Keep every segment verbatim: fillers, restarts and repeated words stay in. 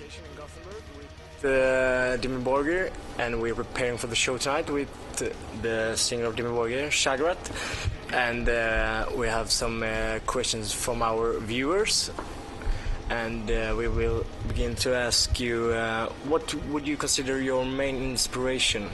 station in Gothenburg with uh, Dimmu Borgir, and we're preparing for the show tonight with uh, the singer of Dimmu Borgir, Shagrat, and uh, we have some uh, questions from our viewers, and uh, we will begin to ask you, uh, what would you consider your main inspiration?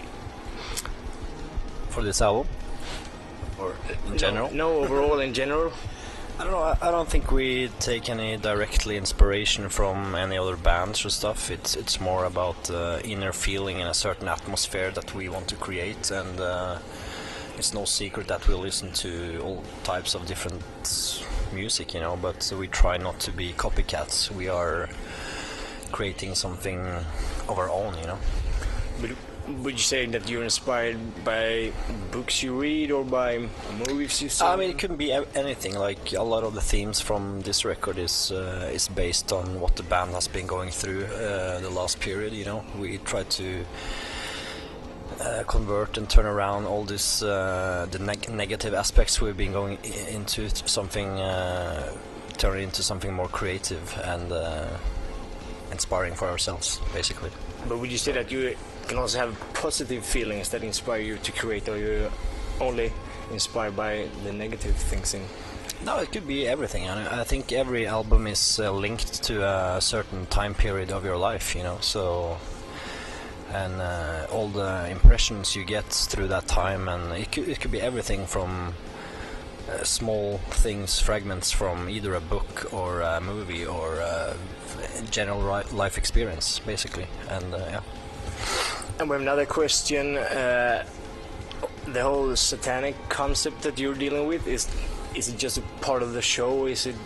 For this album? Or in general? No, no, overall in general. I don't know, I, I don't think we take any directly inspiration from any other bands or stuff. It's it's more about uh, inner feeling and a certain atmosphere that we want to create, and uh, it's no secret that we listen to all types of different music, you know, but we try not to be copycats. We are creating something of our own, you know. But would you say that you're inspired by books you read or by movies you see? I mean, it can be anything. Like a lot of the themes from this record is uh, is based on what the band has been going through uh, the last period. You know, we try to uh, convert and turn around all this uh, the neg negative aspects we've been going I into something, uh, turn it into something more creative and uh, inspiring for ourselves, basically. But would you say that you can also have positive feelings that inspire you to create, or you're only inspired by the negative things in? No, it could be everything. I think every album is uh, linked to a certain time period of your life, you know, so and uh, all the impressions you get through that time, and it could, it could be everything from uh, small things, fragments from either a book or a movie or a general life experience, basically, and uh, yeah. And we have another question. Uh, the whole satanic concept that you're dealing with, is is it just a part of the show? Is it?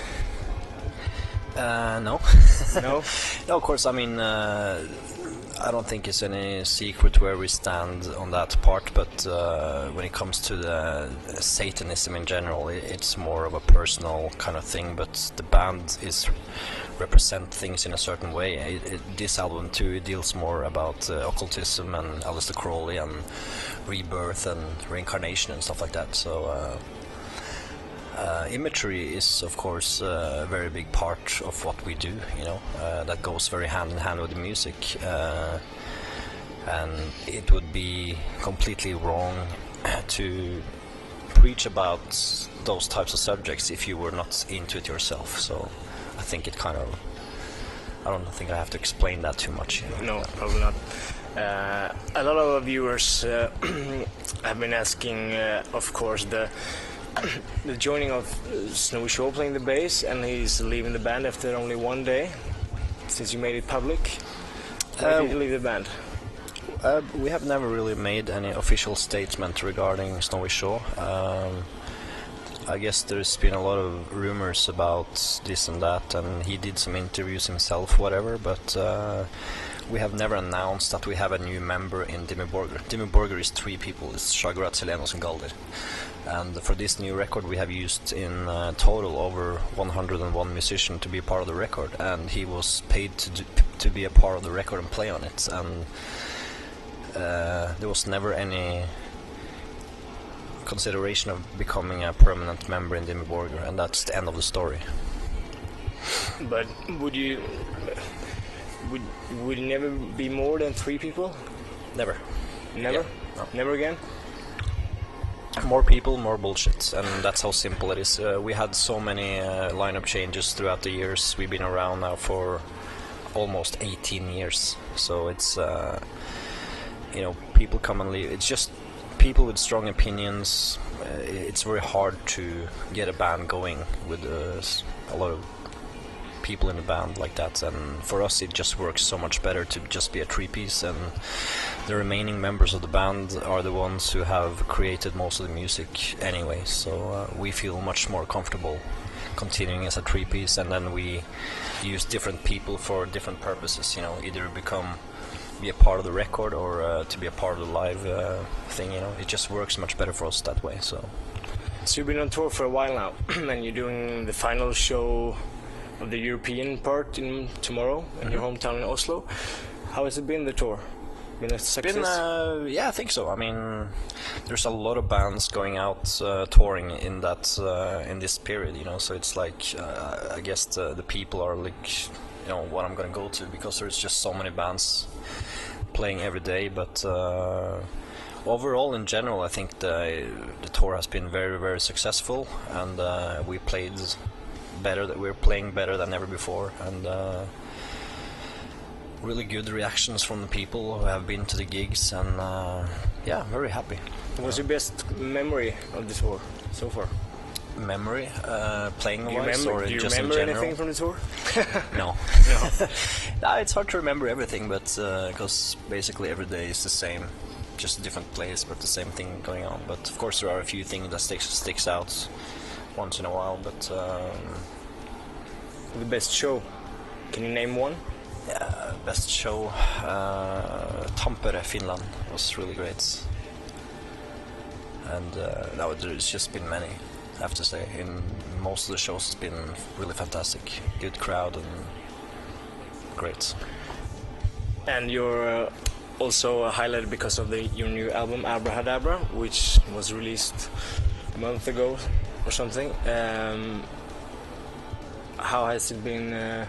Uh, no. No. No, of course. I mean, uh, I don't think it's any secret where we stand on that part. But uh, when it comes to the Satanism in general, it's more of a personal kind of thing. But the band is represent things in a certain way. It, it, this album too, it deals more about uh, occultism and Aleister Crowley and rebirth and reincarnation and stuff like that. So uh, uh, imagery is of course uh, a very big part of what we do, you know, uh, that goes very hand in hand with the music, uh, and it would be completely wrong to preach about those types of subjects if you were not into it yourself. So I think it kind of, I don't think I have to explain that too much. You know? No, probably not. Uh, a lot of our viewers uh, have been asking, uh, of course, the the joining of uh, Snowy Shaw playing the bass, and he's leaving the band after only one day, since you made it public. Why Uh, did you leave the band? Uh, we have never really made any official statement regarding Snowy Shaw. Um, I guess there's been a lot of rumors about this and that, and he did some interviews himself, whatever, but uh, we have never announced that we have a new member in Dimmu Borgir. Dimmu Borgir is three people, it's Shagrat, Selenos and Galdir. And for this new record we have used in uh, total over one hundred and one musicians to be a part of the record, and he was paid to, do, to be a part of the record and play on it, and uh, there was never any consideration of becoming a permanent member in Dimmu Borgir, and that's the end of the story. But would you would would it never be more than three people? Never. Never. Yeah, no. Never again. More people, more bullshit, and that's how simple it is. Uh, we had so many uh, lineup changes throughout the years. We've been around now for almost eighteen years, so it's uh, you know, people come and leave. It's just people with strong opinions. Uh, it's very hard to get a band going with uh, a lot of people in the band like that, and for us it just works so much better to just be a three-piece, and the remaining members of the band are the ones who have created most of the music anyway, so uh, we feel much more comfortable continuing as a three-piece, and then we use different people for different purposes, you know, either become be a part of the record or uh, to be a part of the live uh, thing, you know. It just works much better for us that way. So So you've been on tour for a while now, and you're doing the final show of the European part in tomorrow in mm-hmm. your hometown in Oslo. How has it been, the tour? Been a success? Been, uh, yeah, I think so. I mean, there's a lot of bands going out uh, touring in that uh, in this period, you know. So it's like uh, I guess the, the people are like, you know, what I'm gonna go to, because there's just so many bands playing every day. But uh, overall, in general, I think the the tour has been very very successful, and uh, we played better. That we're playing better than ever before, and. Uh, Really good reactions from the people who have been to the gigs, and uh, yeah, very happy. What's your best memory of the tour so far? Memory, uh, playing Do you wise, remember, or do you just remember in general? anything from the tour? No. No. No, it's hard to remember everything, but because uh, basically every day is the same, just a different place, but the same thing going on. But of course, there are a few things that sticks sticks out once in a while. But um, The best show? Can you name one? yeah, best show, uh, Tampere, Finland was really great, and uh, now there's just been many. I have to say, in most of the shows, it's been really fantastic. Good crowd and great. And you're uh, also highlighted because of the your new album Abrahadabra, which was released a month ago or something. Um, how has it been uh,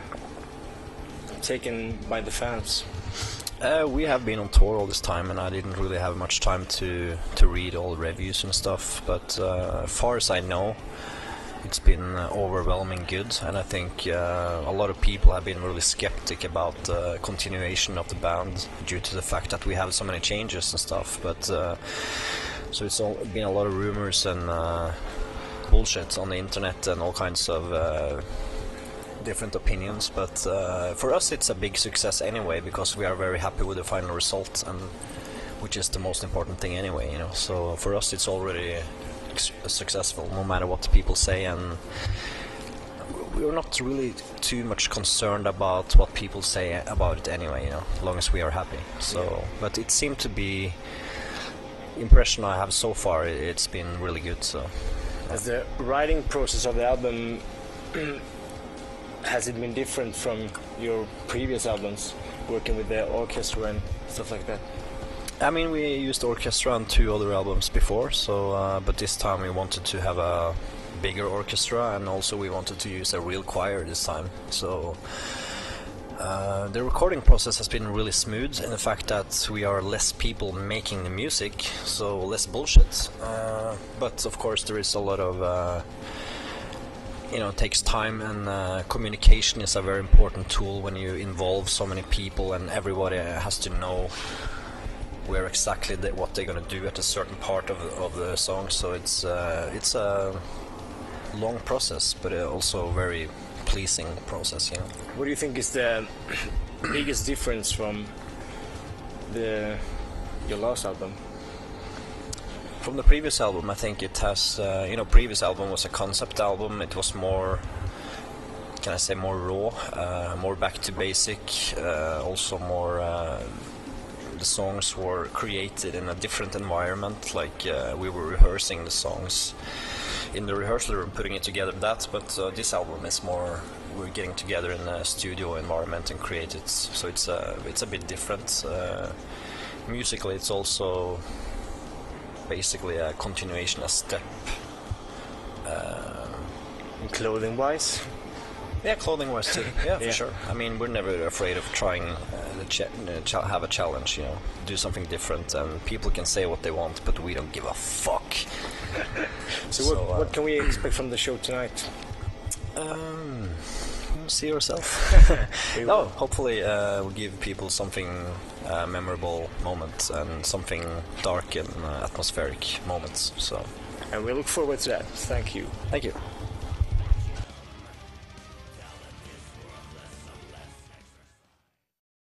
taken by the fans? Uh, we have been on tour all this time, and I didn't really have much time to to read all the reviews and stuff. But uh, as far as I know, it's been uh, overwhelming good, and I think uh, a lot of people have been really skeptic about the continuation of the band due to the fact that we have so many changes and stuff. But uh, so it's all been a lot of rumors and uh, bullshit on the internet and all kinds of uh, different opinions. But uh, for us, it's a big success anyway, because we are very happy with the final result, and which is the most important thing anyway, you know. So for us, it's already successful, no matter what people say, and we're not really too much concerned about what people say about it anyway, you know, as long as we are happy. So, yeah. But it seemed to be impression I have so far. It's been really good. So, as the writing process of the album, has it been different from your previous albums, working with the orchestra and stuff like that? I mean, we used orchestra on two other albums before, so uh, but this time we wanted to have a bigger orchestra, and also we wanted to use a real choir this time. So uh, the recording process has been really smooth in the fact that we are less people making the music, so less bullshit. Uh, but of course, there is a lot of uh, you know, it takes time, and uh, communication is a very important tool when you involve so many people, and everybody has to know where exactly they, what they're gonna do at a certain part of of the song. So it's uh, it's a long process, but also very pleasing process, you know. What do you think is the biggest difference from the your last album? From the previous album, I think it has, uh, you know, previous album was a concept album. It was more, can I say, more raw, uh, more back to basic, uh, also more. Uh, The songs were created in a different environment, like uh, we were rehearsing the songs in the rehearsal room, putting it together. That, but uh, this album is more, we're getting together in a studio environment and create it. So it's a it's a bit different. Uh, musically, it's also basically a continuation, a step. Uh, clothing wise. Yeah, clothing wise too. Yeah, for yeah. sure. I mean, we're never afraid of trying uh, to ch ch have a challenge, you know, do something different, and people can say what they want, but we don't give a fuck. so, so what, uh, what can we expect from the show tonight? Um, see yourself. No, hopefully uh, we'll give people something uh, memorable moment and something dark and uh, atmospheric moments. So, and we look forward to that. Thank you. Thank you.